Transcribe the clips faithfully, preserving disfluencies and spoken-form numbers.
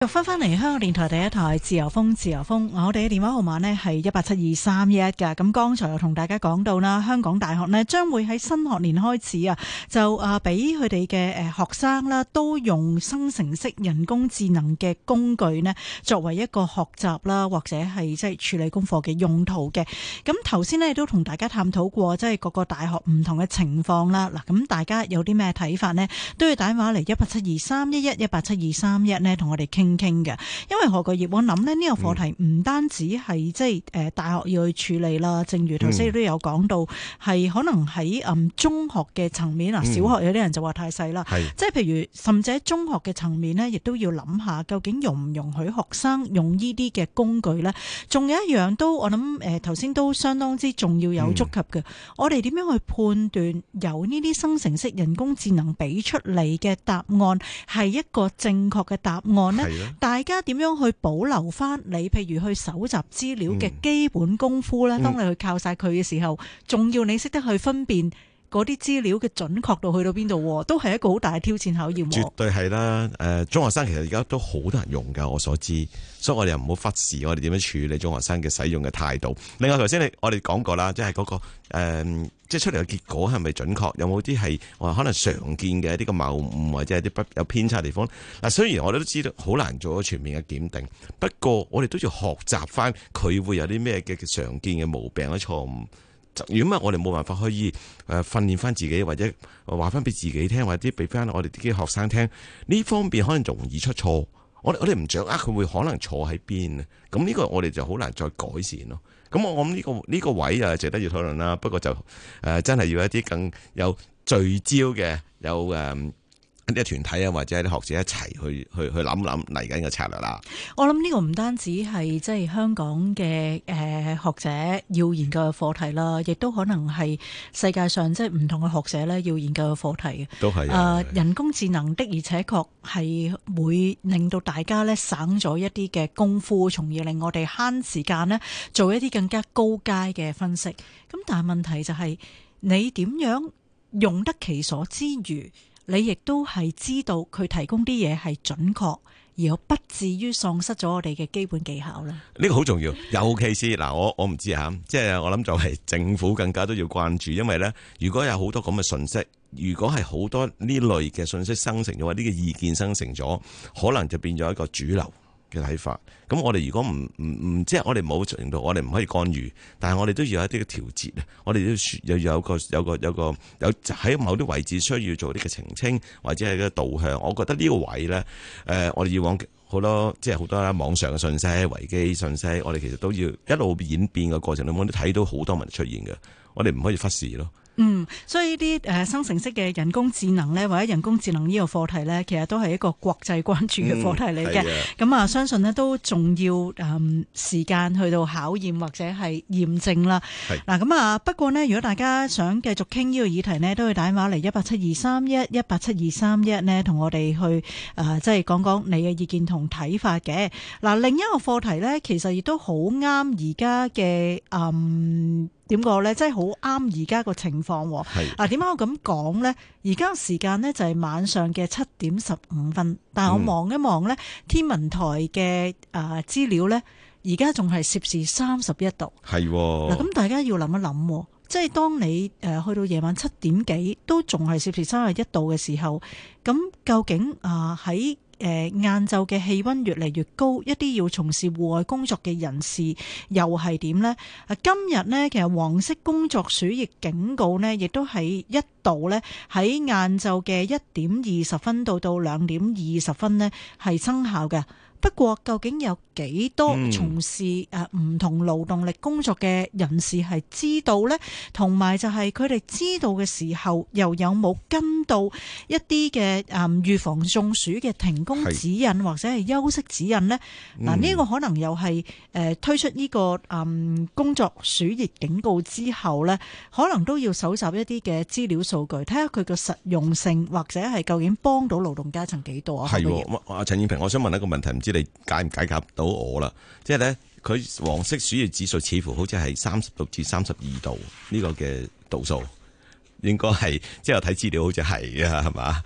又翻返嚟香港電台第一台自由風，自由風，我哋嘅電話號碼呢係一八七二三一噶。咁剛才又同大家講到啦，香港大學呢將會喺新學年開始啊，就啊俾佢哋嘅誒學生啦，都用生成式人工智能嘅工具呢作為一個學習啦，或者係即係處理功課嘅用途嘅。咁頭先呢都同大家探討過，即係各個大學唔同嘅情況啦。嗱，咁大家有啲咩睇法呢？都要打電話嚟一八七二三一一一八七二三一呢，同我哋傾傾嘅。因為何國業，我諗呢呢個課題唔單止係即係誒大學要去處理啦，正如頭先都有講到，係、嗯、可能喺嗯中學嘅層面啊，小學有啲人就話太細啦，嗯、即係譬如甚至喺中學嘅層面呢，亦都要諗下究竟容唔容許學生用呢啲嘅工具呢？仲有一樣都我諗誒頭先都相當之重要有觸及嘅，嗯、我哋點樣去判斷由呢啲生成式人工智能俾出嚟嘅答案係一個正確嘅答案呢？大家點樣去保留翻你譬如去搜集資料嘅基本功夫呢？嗯、當你去靠晒佢嘅時候，仲要你識得去分辨嗰啲資料嘅準確度去到邊度，都係一個好大嘅挑戰考驗。 絕對係啦，誒、呃，中學生其實而家都好多人用噶，我所知，所以我哋又唔好忽視我哋點樣處理中學生嘅使用嘅態度。另外，頭先你我哋講過啦，即係嗰個誒、呃，即係出嚟嘅結果係咪準確？有冇啲係話可能常見嘅一啲嘅謬誤或者係啲不有偏差嘅地方？嗱，雖然我哋都知道好難做咗全面嘅檢定，不過我哋都要學習翻佢會有啲咩嘅常見嘅毛病或者錯誤。如果唔係，我哋冇辦法可以誒訓練翻自己，或者話翻俾自己聽，或者俾翻我哋啲學生聽，呢方面可能容易出錯。我我哋唔掌握佢會可能錯喺邊啊？咁呢個我哋就好難再改善咯。咁我諗呢個呢個位啊，值得要討論啦。不過就誒、呃、真係要一啲更有聚焦嘅，有誒。呃一啲團體啊，或者啲學者一齊去去去諗諗嚟緊嘅策略啦。 我諗呢個唔單止係即係香港嘅誒、呃、學者要研究嘅課題啦，亦都可能係世界上即係唔同嘅學者咧要研究嘅課題嘅。 都係誒、 呃、人工智能的而且確係會令到大家咧省咗一啲嘅功夫，從而令我哋慳時間咧做一啲更加高階嘅分析。咁但係問題就係、是、你點樣用得其所之餘，你亦都係知道佢提供啲嘢係準確，而又不至於喪失咗我哋嘅基本技巧咧。 呢個好重要，尤其是嗱，我我唔知吓，即係我諗就係政府更加都要關注，因為咧，如果有好多咁嘅信息，如果係好多呢類嘅信息生成咗，或者呢個意見生成咗，可能就變咗一個主流嘅睇法。咁我哋如果唔唔唔，即係我哋冇程度，我哋唔可以干預，但係我哋都要有一啲嘅調節啊。我哋都要有個有個有個有喺某啲位置需要做啲嘅澄清，或者係個導向。我覺得呢個位咧，誒、呃，我哋以往好多即係好多網上嘅信息、維基信息，我哋其實都要一路演變嘅過程裏面，都睇到好多問題出現嘅，我哋唔可以忽視咯。 嗯，所以呢啲誒生成式嘅人工智能咧，或者人工智能呢個課題咧，其實都係一個國際關注嘅課題嚟嘅。咁啊、嗯，相信咧都仲要誒、嗯、時間去到考驗或者係驗證啦。嗱，咁啊，不過呢，如果大家想繼續傾呢個議題呢，都會打電話嚟一八七二三一一八七二三一呢，同我哋去誒、呃、即係講講你嘅意見同睇法嘅。嗱，另一個課題呢，其實亦都好啱而家嘅誒點講呢？即係好啱而家個情況。係嗱，點解我咁講呢？而家時間呢，就係晚上嘅七點十五分，但係我望一望呢，天文台嘅誒資料呢，而家仲係攝氏三十一度。係嗱，咁大家要諗一諗，即係當你誒去到夜晚七點幾都仲係攝氏三十一度嘅時候，咁究竟啊喺誒晏晝嘅氣溫越嚟越高，一啲要從事戶外工作嘅人士又係點呢？啊，今日呢，其實黃色工作暑熱警告呢，亦都係一度呢，喺晏晝嘅一點二十分到到兩點二十分呢，係生效嘅。不過究竟有幾多從事誒唔同勞動力工作嘅人士係知道呢？同埋就係佢哋知道嘅時候，又有冇跟到一啲嘅誒預防中暑嘅停工指引或者係休息指引呢？嗱，呢個可能又係誒推出呢個誒工作暑熱警告之後呢，可能都要搜集一啲嘅資料數據，睇下佢嘅實用性或者係究竟幫到勞動階層幾多啊？ 係，阿陳燕平，我想問一個問題，唔知你解唔解答到我啦？即係咧，佢黃色暑熱指數似乎好似係三十六至三十二度呢個嘅度數，應該係即係我睇資料好似係啊，係嘛？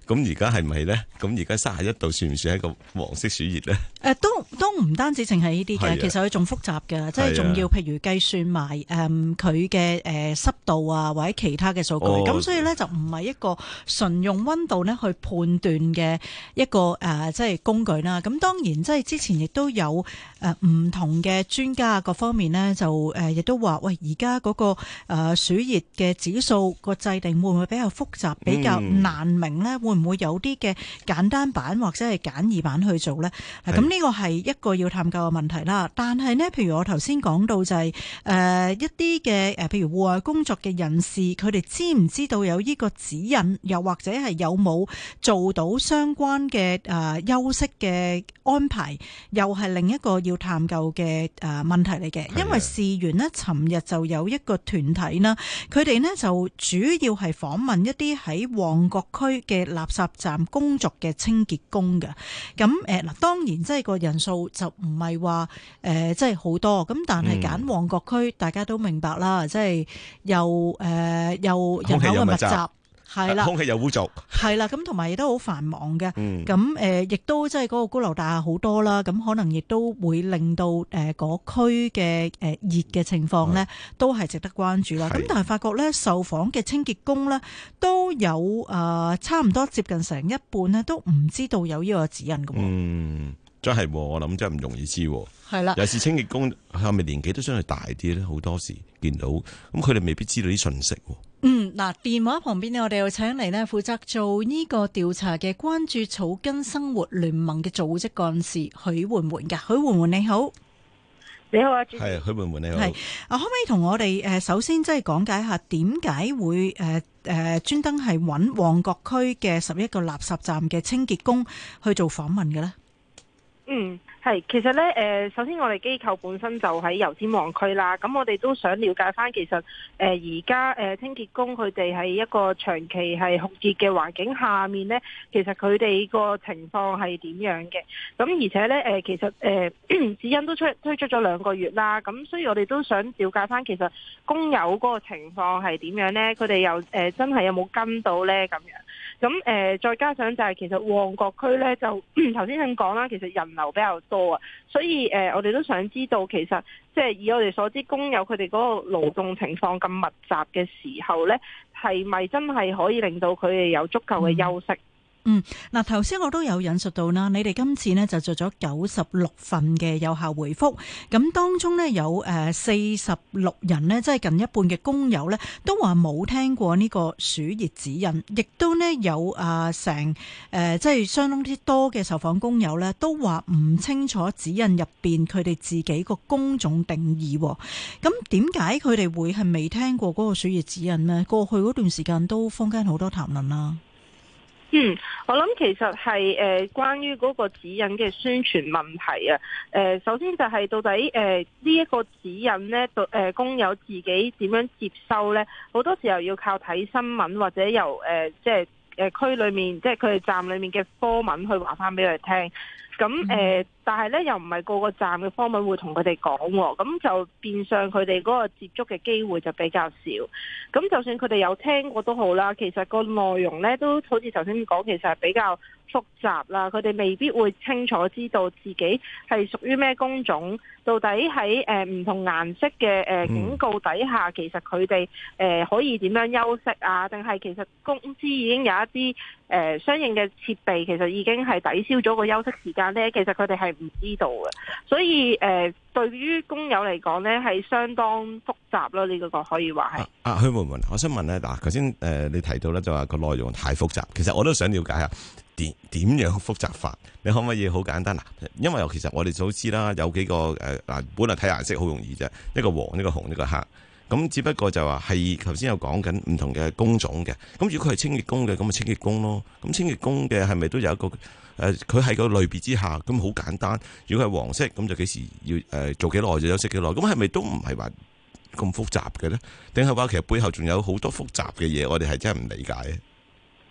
咁而家係咪咧？咁而家三十一度算唔算係一個黃色暑熱咧？ 誒、呃，都都唔單止淨係呢啲嘅，其實佢仲複雜嘅，即係仲要譬如計算埋誒佢嘅誒濕度啊，或者其他嘅數據。咁、哦、所以咧就唔係一個純用溫度咧去判斷嘅一個誒、呃、即係工具啦。咁當然即係之前亦都有誒唔、呃、同嘅專家各方面咧就誒亦、呃、都話喂，而家嗰個誒暑熱嘅指數個制定會唔會比較複雜，比較難明咧？嗯、會唔會有啲嘅簡單版或者係簡易版去做咧？咁呢個係一個要探究嘅問題啦。但係呢，譬如我頭先講到就係、是、誒、呃、一啲嘅誒，譬如戶外工作嘅人士，佢哋知唔知道有呢個指引，又或者係有冇做到相關嘅誒、呃、休息嘅安排，又係另一個要探究嘅誒、呃、問題嚟嘅。因為事緣呢，尋日就有一個團體啦，佢哋呢就主要係訪問一啲喺旺角區嘅垃圾站工作嘅清潔工嘅。咁誒嗱，當然即係個人數就唔係話誒，即係好多。咁但係揀旺角區，大家都明白啦，即係又誒又人口嘅密集。係啦， 空氣又污濁， 係啦，咁同埋亦都好繁忙嘅，咁誒、 嗯， 亦都即係嗰個高樓大廈好多啦，咁可能亦都會令到誒嗰區嘅誒熱嘅情況咧，都係值得關注啦。咁但係發覺咧，受訪嘅清潔工咧都有誒、呃、差唔多接近成一半咧，都唔知道有呢個指引嘅。嗯， 真係，我諗真係唔容易知。 係啦， 有時清潔工係咪年紀都相對大啲咧？好多時見到，咁佢哋未必知道啲信息。 嗯，嗱，電話旁邊呢，我哋又請嚟呢負責做呢個調查嘅關注草根生活聯盟嘅組織幹事許媛媛噶，許媛媛你好。 你好啊，主持。 係許媛媛你好。 係啊，可唔可以同我哋誒首先即係講解下點解會誒誒專登係揾旺角區嘅十一個垃圾站嘅清潔工去做訪問嘅咧？ 嗯，係，其實咧，誒、呃，首先我哋機構本身就喺油尖旺區啦，咁我哋都想了解翻，其實誒而家誒清潔工佢哋喺一個長期係酷熱嘅環境下面咧，其實佢哋個情況係點樣嘅？咁而且咧，誒、呃、其實誒、呃、指引都出推出咗兩個月啦，咁所以我哋都想了解翻，其實工友嗰個情況係點樣咧？佢哋又誒、呃、真係有冇跟到咧？咁樣。咁誒、呃，再加上就係其實旺角區咧，就頭先咁講啦，其實人流比較多啊，所以誒、呃，我哋都想知道，其實即係以我哋所知，工友佢哋嗰個勞動情況咁密集嘅時候咧，係咪真係可以令到佢哋有足夠嘅休息？嗯嗯，嗱，頭先我都有引述到啦，你哋今次呢就做咗九十六份嘅有效回覆，咁當中呢，有誒四十六人呢，即係近一半嘅工友呢，都話冇聽過呢個暑熱指引，亦都呢有啊成誒即係相當之多嘅受訪工友呢，都話唔清楚指引入邊佢哋自己個工種定義。咁點解佢哋會係未聽過嗰個暑熱指引呢？過去嗰段時間都坊間好多談論啦。 嗯，我諗其實係誒、呃、關於嗰個指引嘅宣傳問題啊。誒、呃，首先就係到底誒呢一個指引咧，誒、呃、工友自己點樣接收咧？好多時候要靠睇新聞或者由誒、呃、即係誒區裏面，即係佢哋站裏面嘅科文去話翻俾佢哋聽。咁誒、呃，但係咧又唔係個個站嘅科文會同佢哋講，咁就變相佢哋嗰個接觸嘅機會就比較少。咁就算佢哋有聽過都好啦，其實個內容咧都好似頭先講，其實係比較複雜啦。佢哋未必會清楚知道自己係屬於咩工種，到底喺誒唔同顏色嘅誒警告底下，其實佢哋誒可以點樣休息啊？定係其實公司已經有一啲誒、呃、相應嘅設備，其實已經係抵消咗個休息時間咧。其實佢哋係唔知道嘅，所以誒、呃、對於工友嚟講咧係相當複雜咯。呢、這個可以話係。啊， 許媛媛，我想問咧，嗱，頭先誒你提到咧就話個內容太複雜，其實我都想了解下點點樣複雜法？你可唔可以好簡單嗱？因為其實我哋都知啦，有幾個誒嗱、呃，本來睇顏色好容易啫，一個黃，一個紅，一個黑。咁只不過就話係頭先有講緊唔同嘅工種嘅，咁如果佢係清潔工嘅，咁咪清潔工咯。咁清潔工嘅係咪都有一個誒？佢係個類別之下，咁好簡單。如果係黃色，咁就幾時要誒、呃、做幾耐就休息幾耐。咁係咪都唔係話咁複雜嘅咧？定係話其實背後仲有好多複雜嘅嘢，我哋係真係唔理解。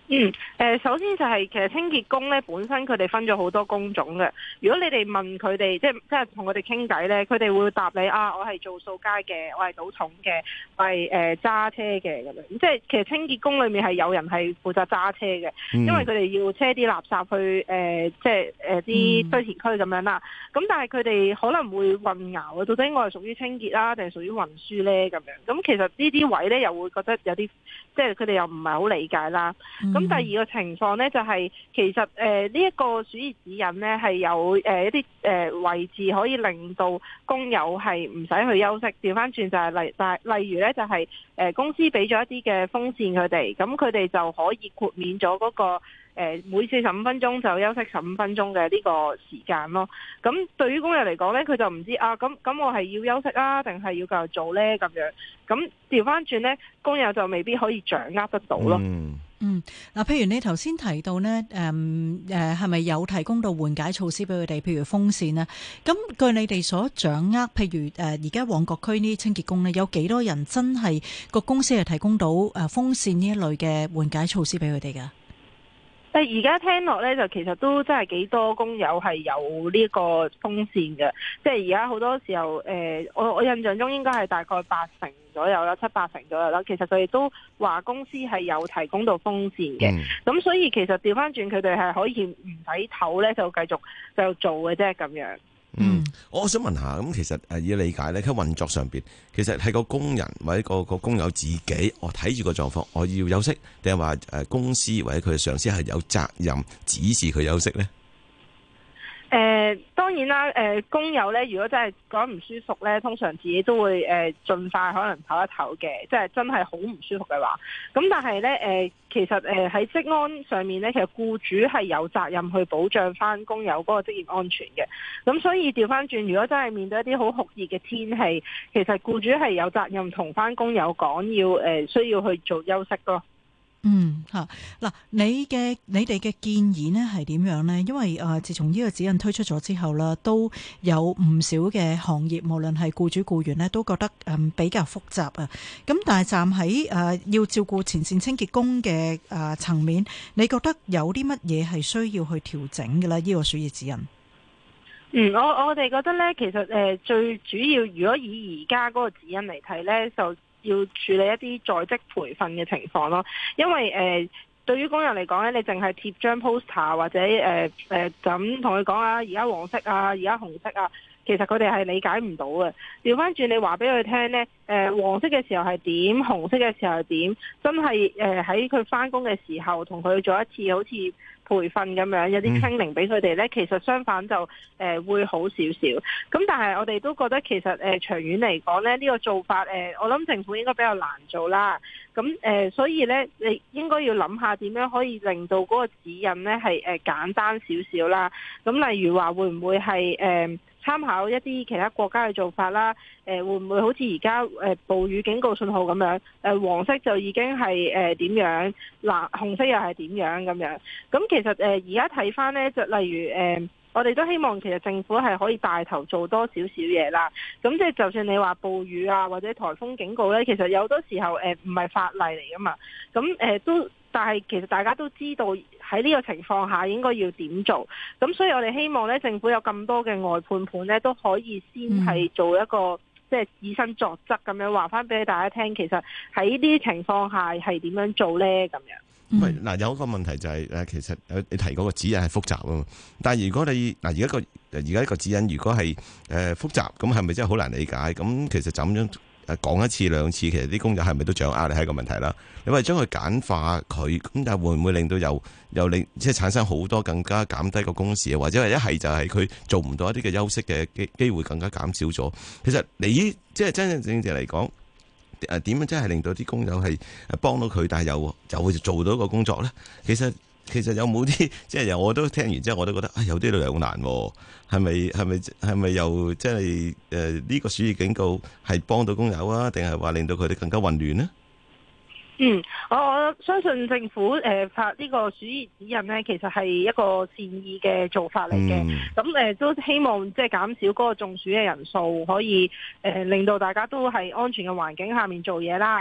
嗯，誒，首先就係其實清潔工咧本身佢哋分咗好多工種嘅。如果你哋問佢哋，即係即係同佢哋傾偈咧，佢哋會答你啊，我係做掃街嘅，我係倒桶嘅，我係誒揸車嘅咁樣。即係其實清潔工裏面係有人係負責揸車嘅，因為佢哋要車啲垃圾去誒、呃，即係誒啲堆填區咁樣啦。咁但係佢哋可能會混淆啊，到底我係屬於清潔啦，定係屬於運輸咧咁樣。咁其實呢啲位咧又會覺得有啲，即係佢哋又唔係好理解啦。咁、嗯、第二個情況咧就係、是、其實誒呢一個暑熱指引咧係有誒、呃、一啲誒、呃、位置可以令到工友係唔使去休息。調翻轉就係例但係例如咧就係、是、誒、呃、公司俾咗一啲嘅風扇佢哋，咁佢哋就可以豁免咗嗰、那個。誒每四十五分鐘就休息十五分鐘嘅呢個時間咯。咁對於工友嚟講呢，佢就唔知啊，咁咁我係要休息啊，定係要繼續做呢？咁樣咁調翻轉呢，工友就未必可以掌握得到咯。 嗯嗯，嗱，譬如你頭先提到呢，誒誒係咪有提供到緩解措施俾佢哋？譬如風扇呢？咁據你哋所掌握，譬如誒而家旺角區呢啲清潔工呢，有幾多人真係個公司係提供到誒風扇呢一類嘅緩解措施俾佢哋㗎？ 但而家聽落咧，就其實都真係幾多工友係有呢個風扇嘅，即係而家好多時候，誒、呃，我我印象中應該係大概八成左右啦，七八成左右啦。其實佢哋都話公司係有提供到風扇嘅，咁、嗯、所以其實調翻轉佢哋係可以唔使唞咧，就繼續就做嘅啫咁樣。 嗯，我想問下，咁其實誒以理解咧，喺運作上邊，其實係個工人或者個個工友自己，我睇住個狀況，我要休息，定係話誒公司或者佢嘅上司係有責任指示佢休息咧？ 誒、呃、當然啦，誒、呃、工友咧，如果真係講唔舒服咧，通常自己都會誒、呃、盡快可能唞一唞嘅，即係真係好唔舒服嘅話。咁但係咧誒，其實誒喺職安上面咧，其實僱主係有責任去保障翻工友嗰個職業安全嘅。咁所以調翻轉，如果真係面對一啲好酷熱嘅天氣，其實僱主係有責任同翻工友講，要誒、呃、需要去做休息咯。 嗯吓，嗱，你嘅你哋嘅建議呢係點樣呢？因為誒、呃，自從呢個指引推出咗之後啦，都有唔少嘅行業，無論係僱主僱員呢，都覺得誒、嗯、比較複雜啊。咁但係站喺誒、呃、要照顧前線清潔工嘅誒層面，你覺得有啲乜嘢係需要去調整嘅咧？呢、這個暑熱指引。 嗯，我我哋覺得呢，其實誒、呃、最主要，如果以而家嗰個指引嚟睇呢，就要處理一啲在職培訓嘅情況咯，因為誒、呃、對於工人嚟講咧，你淨係貼張 poster 或者誒誒就咁同佢講啊，而家黃色啊，而家紅色啊，其實佢哋係理解唔到嘅。調翻轉你話俾佢聽咧，誒、呃、黃色嘅時候係點，紅色嘅時候係點，真係誒喺佢翻工嘅時候同佢做一次好似培訓咁樣，有啲 training 俾佢哋咧，其實相反就誒、呃、會好少少。咁但係我哋都覺得其實誒、呃、長遠嚟講咧，呢、呢個做法誒、呃，我諗政府應該比較難做啦。咁誒、呃，所以咧，你應該要諗下點樣可以令到嗰個指引咧係誒簡單少少啦。咁例如話會唔會係誒、呃參考一啲其他國家嘅做法啦，誒、呃、會唔會好似而家誒暴雨警告信號咁樣？誒、呃、黃色就已經係誒點樣，嗱紅色又係點樣咁樣？咁其實誒而家睇翻咧，就例如誒、呃，我哋都希望其實政府係可以帶頭做多少少嘢啦。咁即係就算你話暴雨啊或者颱風警告咧，其實有好多時候誒唔係法例嚟噶嘛。咁誒、呃、都。但係其實大家都知道喺呢個情況下應該要點做，咁所以我哋希望咧政府有咁多嘅外判盤咧都可以先係做一個、嗯、即係以身作則咁樣話翻俾大家聽，其實喺呢啲情況下係點樣做咧咁樣。 唔係嗱，有一個問題就係、是、誒，其實你提嗰個指引係複雜啊嘛。但係如果你嗱而家個而家一個指引如果係誒複雜，咁係咪真係好難理解？咁其實就咁樣誒講一次兩次，其實啲工友係咪都掌握？你係一個問題啦。你話將佢簡化佢，咁但係會唔會令到又又令即係產生好多更加減低個工時啊？或者係一係就係佢做唔到一啲嘅休息嘅機機會更加減少咗？其實你即係真真正正嚟講，誒點樣真係令到啲工友係誒幫到佢，但係又就會做到個工作咧？其實其實有冇啲即係我都聽完之後，我都覺得啊、哎、有啲兩難，係咪係咪係咪又即係誒呢個暑熱警告係幫到工友啊，定係話令到佢哋更加混亂呢？ 嗯，我我相信政府誒發呢個暑熱指引呢，其實係一個善意嘅做法嚟嘅。咁、嗯、誒、呃、都希望即係減少嗰個中暑嘅人數，可以誒、呃、令到大家都係安全嘅環境下面做嘢啦。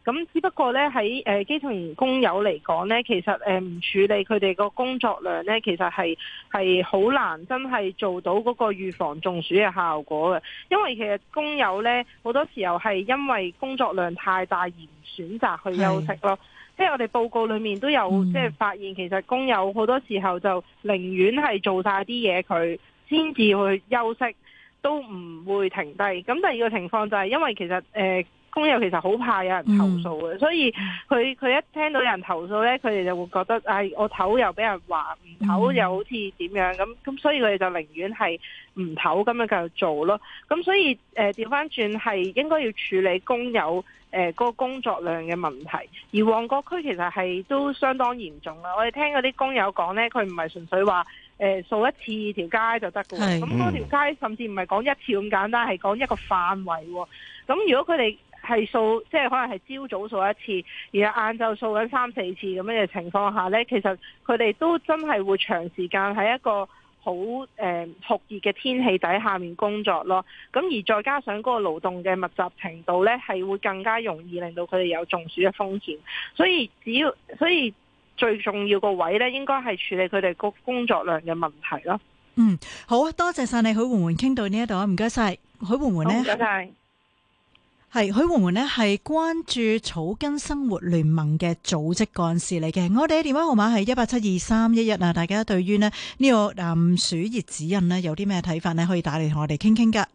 咁只不過咧喺誒基層工友嚟講咧，其實誒唔處理佢哋個工作量咧，其實係係好難真係做到嗰個預防中暑嘅效果嘅。因為其實工友咧好多時候係因為工作量太大而唔選擇去休息咯。即係我哋報告裏面都有、嗯、即係發現，其實工友好多時候就寧願係做晒啲嘢佢先至去休息，都唔會停低。咁第二個情況就係因為其實誒、呃、工友其實好怕有人投訴嘅、嗯，所以佢佢一聽到有人投訴咧，佢哋就會覺得唉、哎，我唞又俾人話，唔唞又好似點樣咁，咁所以佢哋就寧願係唔唞咁樣繼續做咯。咁所以誒調翻轉係應該要處理工友誒、呃，嗰個工作量嘅問題，而旺角區其實係都相當嚴重啦。我哋聽嗰啲工友講呢，佢唔係純粹話誒掃一次條街就得㗎喎。咁嗰條街甚至唔係講一次咁簡單，係講一個範圍喎。咁如果佢哋係掃，即係可能係朝早掃一次，然後晏晝掃緊三四次咁樣嘅情況下呢，其實佢哋都真係會長時間喺一個好誒酷熱嘅天氣底下面工作咯，咁而再加上嗰個勞動嘅密集程度呢，係會更加容易令到佢哋有中暑嘅風險。所以只要所以最重要個位呢，應該係處理佢哋個工作量嘅問題咯。 嗯，好多謝晒你許媛媛，傾到呢一度啊，唔該晒許媛媛呢。 唔該晒。 係許媛媛呢係關注草根生活聯盟嘅組織幹事嚟嘅。我哋嘅電話號碼係一八七二三一一啊。大家對於呢呢個誒暑熱指引呢有啲咩睇法呢？可以打嚟同我哋傾傾噶。